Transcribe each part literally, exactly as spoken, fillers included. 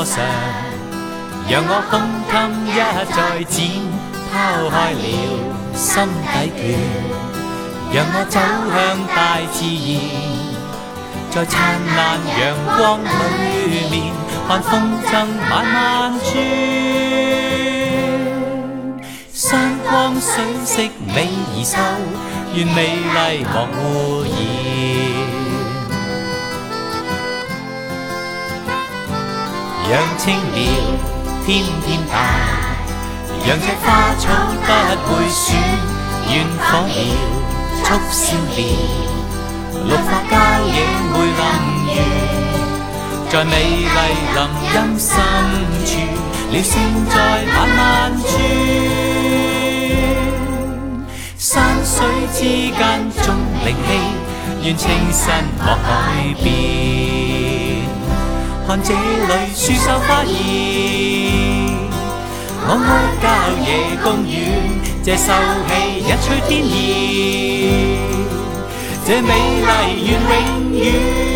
坡上，讓我胸襟一再展，拋開了心底倦，讓我走向大自然。在燦爛陽光裏面，看風箏慢慢轉，山光水色美而秀，願美麗莫污染。讓青苗天天大，讓這花草不會損，願火苗促燒烈。綠化郊野會臨完，在美麗林蔭深處，鳥聲在慢慢轉，山水之間縱靈氣，願清新莫改變。看這裏樹秀花現，我愛郊野公園，這秀氣一吹天然。這美麗願永遠，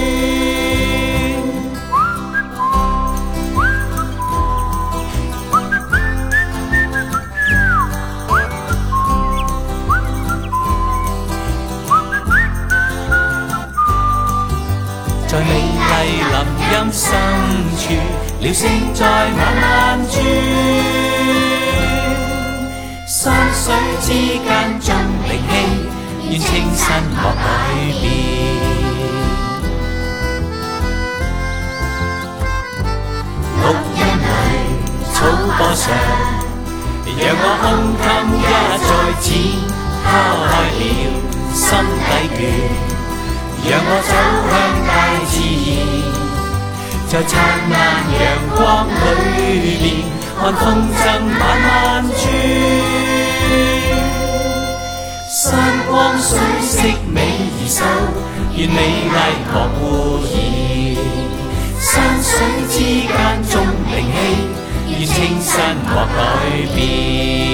在美麗林蔭深處，鳥聲在慢慢轉，山水之間縱靈氣，願清新莫改變。綠蔭裏草坡上，讓我胸襟一再展，拋開了心底倦，讓我走向大自然。在燦爛陽光裏面，看風箏慢慢轉，山光水色美而秀，願美麗莫污染。山水之間縱靈氣，願清新莫改變。